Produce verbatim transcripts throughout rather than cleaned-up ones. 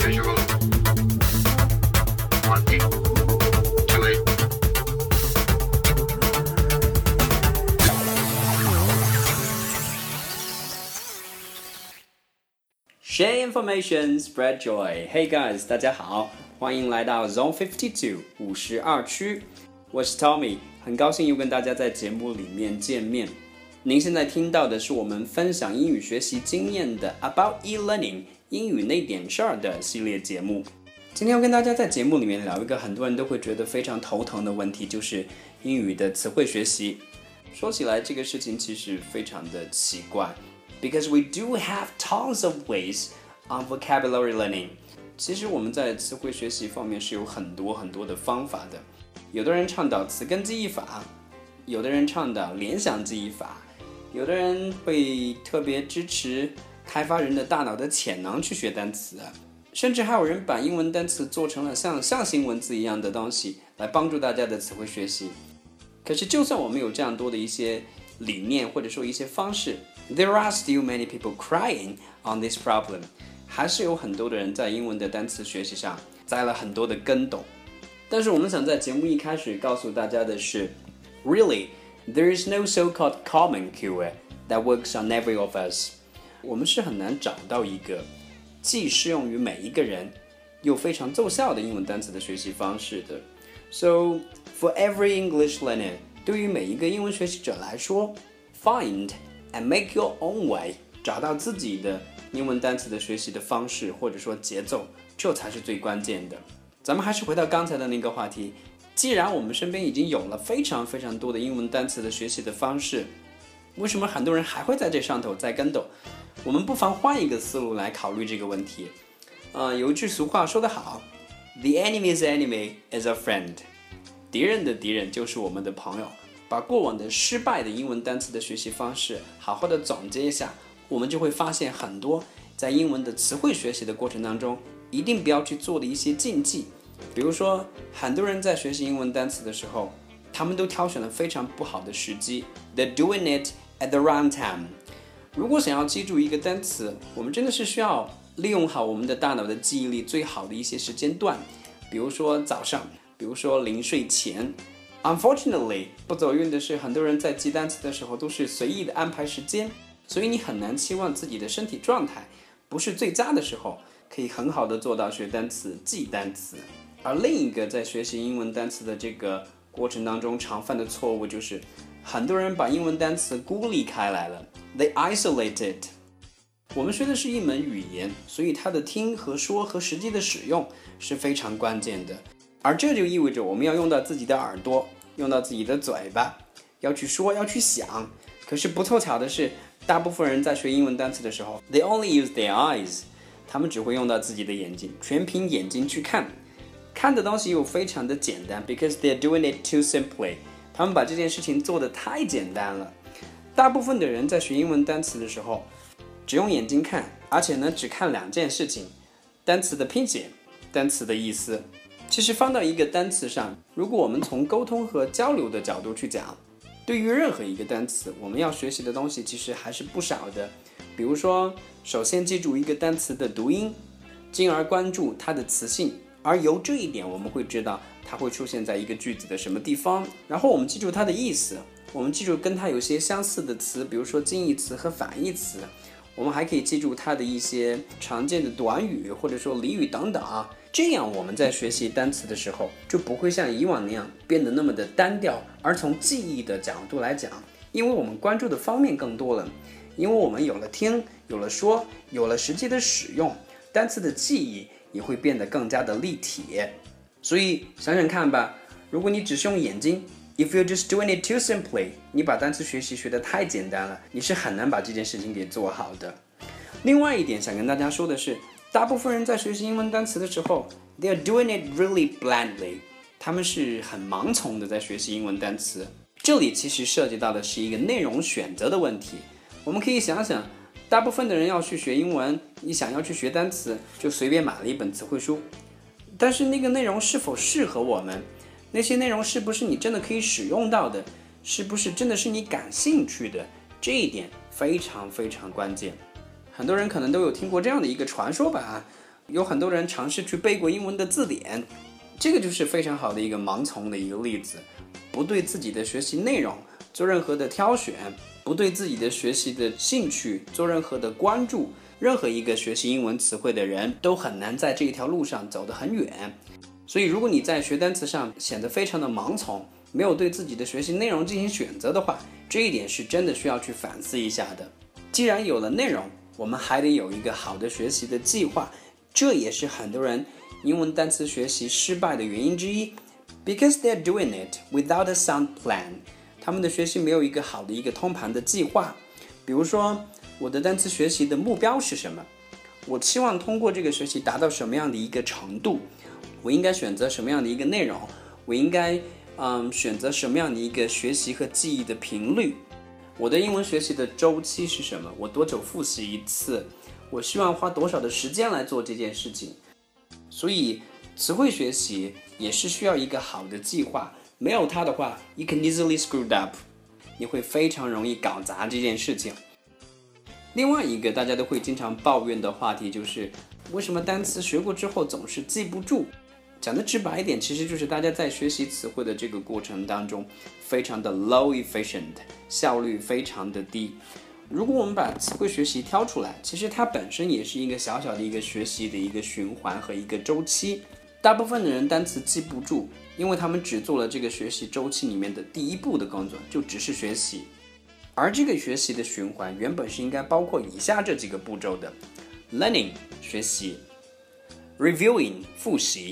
Visual. One, two, eight. Share information, spread joy. Hey guys, 大家好，欢迎来到 Zone fifty-two 五十二区。我是 Tommy， 很高兴又跟大家在节目里面见面。您现在听到的是我们分享英语学习经验的 About e-learning 英语那点事儿的系列节目。今天要跟大家在节目里面聊一个很多人都会觉得非常头疼的问题，就是英语的词汇学习。说起来这个事情其实非常的奇怪。Because we do have tons of ways on vocabulary learning. 其实我们在词汇学习方面是有很多很多的方法的。有的人倡导词根记忆法，有的人倡导联想记忆法，有的人会特别支持开发人的大脑的潜能去学单词，甚至还有人把英文单词做成了像象形文字一样的东西来帮助大家的词汇学习。可是就算我们有这样多的一些理念或者说一些方式， There are still many people crying on this problem. 还是有很多的人在英文的单词学习上栽了很多的跟斗。但是我们想在节目一开始告诉大家的是 Really, there is no so-called common cure that works on every of us. 我们是很难找到一个既适用于每一个人又非常奏效的英文单词的学习方式的。So, for every English learner, 对于每一个英文学习者来说 Find and make your own way. 找到自己的英文单词的学习的方式或者说节奏，这才是最关键的。咱们还是回到刚才的那个话题，既然我们身边已经有了非常非常多的英文单词的学习的方式，为什么很多人还会在这上头栽跟斗？我们不妨换一个思路来考虑这个问题。呃，有一句俗话说得好 The enemy's enemy is a friend. 敌人的敌人就是我们的朋友。把过往的失败的英文单词的学习方式好好的总结一下，我们就会发现很多在英文的词汇学习的过程当中一定不要去做的一些禁忌。比如说很多人在学习英文单词的时候，他们都挑选了非常不好的时机， They're doing it at the wrong time. 如果想要记住一个单词，我们真的是需要利用好我们的大脑的记忆力最好的一些时间段，比如说早上，比如说临睡前。Unfortunately, 不走运的是很多人在记单词的时候都是随意的安排时间，所以你很难期望自己的身体状态不是最佳的时候可以很好的做到学单词记单词。而另一个在学习英文单词的这个过程当中常犯的错误就是很多人把英文单词孤立开来了， They isolate it. 我们学的是一门语言，所以它的听和说和实际的使用是非常关键的，而这就意味着我们要用到自己的耳朵，用到自己的嘴巴，要去说，要去想。可是不凑巧的是，大部分人在学英文单词的时候 They only use their eyes. 他们只会用到自己的眼睛，全凭眼睛去看。看的东西又非常的简单 Because they're doing it too simply. 他们把这件事情做得太简单了。大部分的人在学英文单词的时候只用眼睛看，而且呢只看两件事情，单词的拼写，单词的意思。其实放到一个单词上，如果我们从沟通和交流的角度去讲，对于任何一个单词，我们要学习的东西其实还是不少的。比如说，首先记住一个单词的读音，进而关注它的词性，而由这一点我们会知道它会出现在一个句子的什么地方。然后我们记住它的意思，我们记住跟它有些相似的词，比如说近义词和反义词。我们还可以记住它的一些常见的短语或者说俚语等等啊，这样我们在学习单词的时候就不会像以往那样变得那么的单调。而从记忆的角度来讲，因为我们关注的方面更多了，因为我们有了听，有了说，有了实际的使用，单词的记忆也会变得更加的立体。所以想想看吧，如果你只是用眼睛If you're just doing it too simply, 你把单词学习学得太简单了，你是很难把这件事情给做好的。另外一点想跟大家说的是，大部分人在学习英文单词的时候 They're doing it really blindly. 他们是很盲从的在学习英文单词。这里其实涉及到的是一个内容选择的问题。我们可以想想，大部分的人要去学英文，你想要去学单词，就随便买了一本词汇书，但是那个内容是否适合我们，那些内容是不是你真的可以使用到的，是不是真的是你感兴趣的，这一点非常非常关键。很多人可能都有听过这样的一个传说吧， 有很多人尝试去背过英文的字典，这个就是非常好的一个盲从的一个例子。不对自己的学习内容做任何的挑选，不对自己的学习的兴趣做任何的关注，任何一个学习英文词汇的人都很难在这一条路上走得很远。所以如果你在学单词上显得非常的盲从，没有对自己的学习内容进行选择的话，这一点是真的需要去反思一下的。既然有了内容，我们还得有一个好的学习的计划，这也是很多人英文单词学习失败的原因之一。Because they're doing it without a sound plan， 他们的学习没有一个好的一个通盘的计划。比如说，我的单词学习的目标是什么？我期望通过这个学习达到什么样的一个程度？我应该选择什么样的一个内容？我应该嗯选择什么样的一个学习和记忆的频率？我的英文学习的周期是什么？我多久复习一次？我希望花多少的时间来做这件事情？所以词汇学习也是需要一个好的计划，没有它的话 you can easily screw up， 你会非常容易搞砸这件事情。另外一个大家都会经常抱怨的话题就是为什么单词学过之后总是记不住？讲的直白一点，其实就是大家在学习词汇的这个过程当中非常的 low efficient， 效率非常的低。如果我们把词汇学习挑出来，其实它本身也是一个小小的一个学习的一个循环和一个周期。大部分的人单词记不住，因为他们只做了这个学习周期里面的第一步的工作，就只是学习。而这个学习的循环原本是应该包括以下这几个步骤的： learning 学习， reviewing 复习，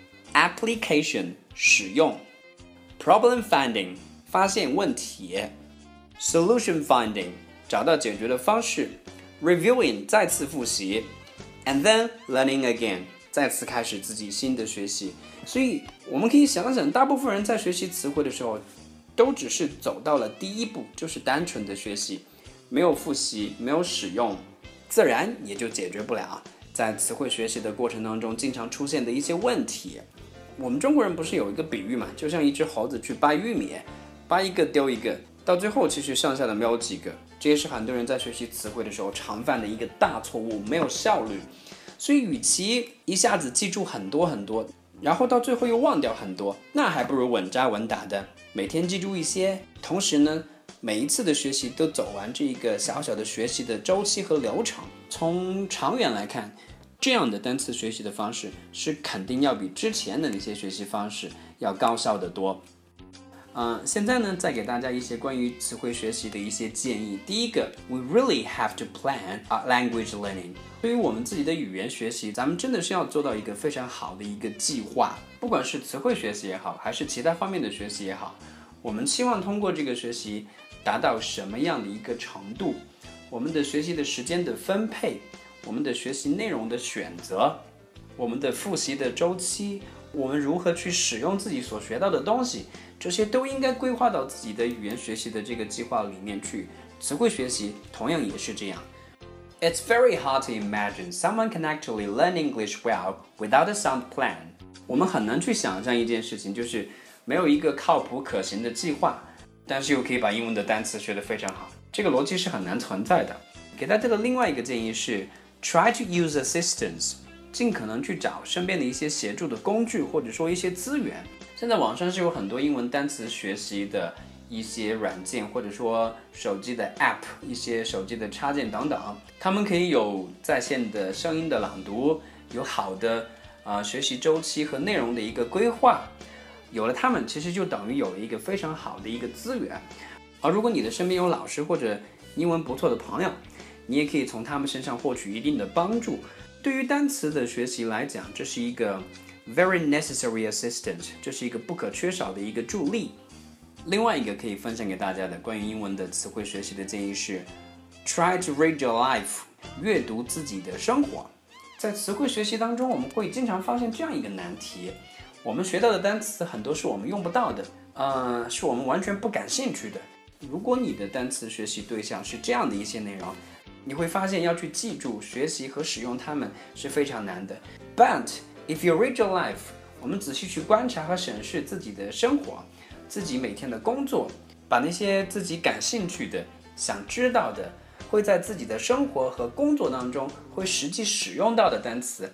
application 使用， problem finding 发现问题， solution finding 找到解决的方式， reviewing 再次复习， and then learning again 再次开始自己新的学习。所以我们可以想想，大部分人在学习词汇的时候都只是走到了第一步，就是单纯的学习，没有复习，没有使用，自然也就解决不了在词汇学习的过程当中经常出现的一些问题。我们中国人不是有一个比喻嘛，就像一只猴子去掰玉米，掰一个丢一个，到最后其实剩下的没有几个。这也是很多人在学习词汇的时候常犯的一个大错误，没有效率。所以与其一下子记住很多很多，然后到最后又忘掉很多，那还不如稳扎稳打的每天记住一些，同时呢每一次的学习都走完这一个小小的学习的周期和流程。从长远来看，这样的单词学习的方式是肯定要比之前的那些学习方式要高效得多。呃，现在呢，再给大家一些关于词汇学习的一些建议。第一个 ，we really have to plan our language learning。对于我们自己的语言学习，咱们真的是要做到一个非常好的一个计划。不管是词汇学习也好，还是其他方面的学习也好，我们期望通过这个学习达到什么样的一个程度？我们的学习的时间的分配，我们的学习内容的选择，我们的复习的周期，我们如何去使用自己所学到的东西，这些都应该规划到自己的语言学习的这个计划里面去。词汇学习同样也是这样。It's very hard to imagine someone can actually learn English well without a sound plan。我们很难去想象一件事情，就是没有一个靠谱可行的计划，但是又可以把英文的单词学得非常好。这个逻辑是很难存在的。给大家的另外一个建议是 try to use assistance， 尽可能去找身边的一些协助的工具，或者说一些资源。现在网上是有很多英文单词学习的一些软件，或者说手机的 app， 一些手机的插件等等，他们可以有在线的声音的朗读，有好的、呃、学习周期和内容的一个规划。有了它们，其实就等于有了一个非常好的一个资源。而如果你的身边有老师或者英文不错的朋友，你也可以从他们身上获取一定的帮助。对于单词的学习来讲，这是一个 very necessary assistant， 这是一个不可缺少的一个助力。另外一个可以分享给大家的关于英文的词汇学习的建议是 try to read your life， 阅读自己的生活。在词汇学习当中，我们会经常发现这样一个难题，我们学到的单词很多是我们用不到的，呃，是我们完全不感兴趣的。如果你的单词学习对象是这样的一些内容，你会发现要去记住、学习和使用它们是非常难的。But if you read your life， 我们仔细去观察和审视自己的生活，自己每天的工作，把那些自己感兴趣的、想知道的，会在自己的生活和工作当中会实际使用到的单词，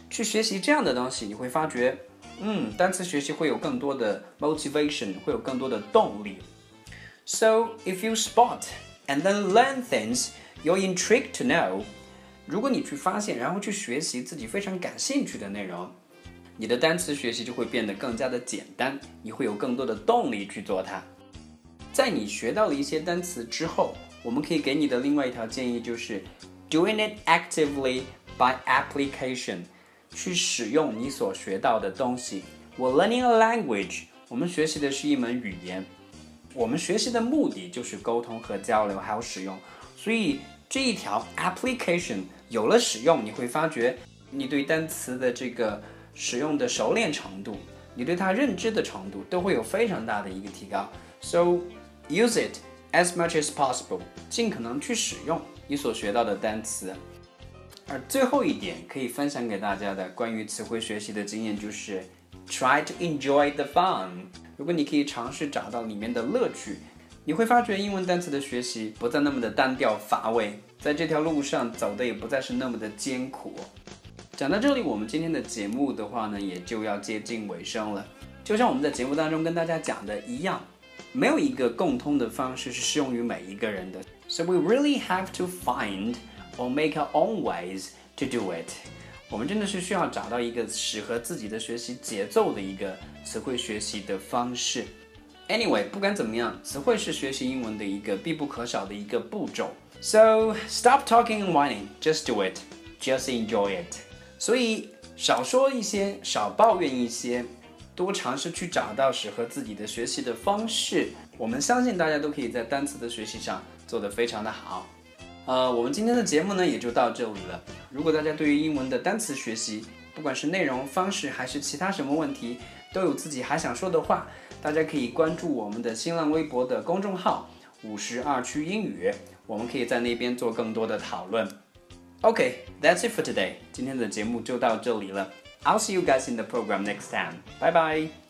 去学习这样的东西，你会发觉，嗯，单词学习会有更多的 motivation， 会有更多的动力。So if you spot and then learn things you're intrigued to know， 如果你去发现，然后去学习自己非常感兴趣的内容，你的单词学习就会变得更加的简单，你会有更多的动力去做它。在你学到了一些单词之后，我们可以给你的另外一条建议就是 doing it actively by application， 去使用你所学到的东西。We're learning a language， 我们学习的是一门语言，我们学习的目的就是沟通和交流，还有使用。所以这一条 application 有了使用，你会发觉你对单词的这个使用的熟练程度，你对它认知的程度都会有非常大的一个提高。So use it as much as possible， 尽可能去使用你所学到的单词。而最后一点可以分享给大家的关于词汇学习的经验就是 try to enjoy the fun。 如果你可以尝试找到里面的乐趣，你会发觉英文单词的学习不再那么的单调乏味，在这条路上走的也不再是那么的艰苦。讲到这里，我们今天的节目的话呢，也就要接近尾声了。就像我们在节目当中跟大家讲的一样，没有一个共通的方式是适用于每一个人的。So we really have to find or make our own ways to do it。 我们真的是需要找到一个适合自己的学习节奏的一个词汇学习的方式。Anyway， 不管怎么样，词汇是学习英文的一个必不可少的一个步骤。So stop talking and whining, just do it, just enjoy it。 所以少说一些，少抱怨一些，多尝试去找到适合自己的学习的方式。我们相信大家都可以在单词的学习上做得非常的好。呃，我们今天的节目呢也就到这里了。如果大家对于英文的单词学习，不管是内容、方式还是其他什么问题，都有自己还想说的话，大家可以关注我们的新浪微博的公众号五十二区英语，我们可以在那边做更多的讨论。Okay, that's it for today. 今天的节目就到这里了。I'll see you guys in the program next time. Bye bye.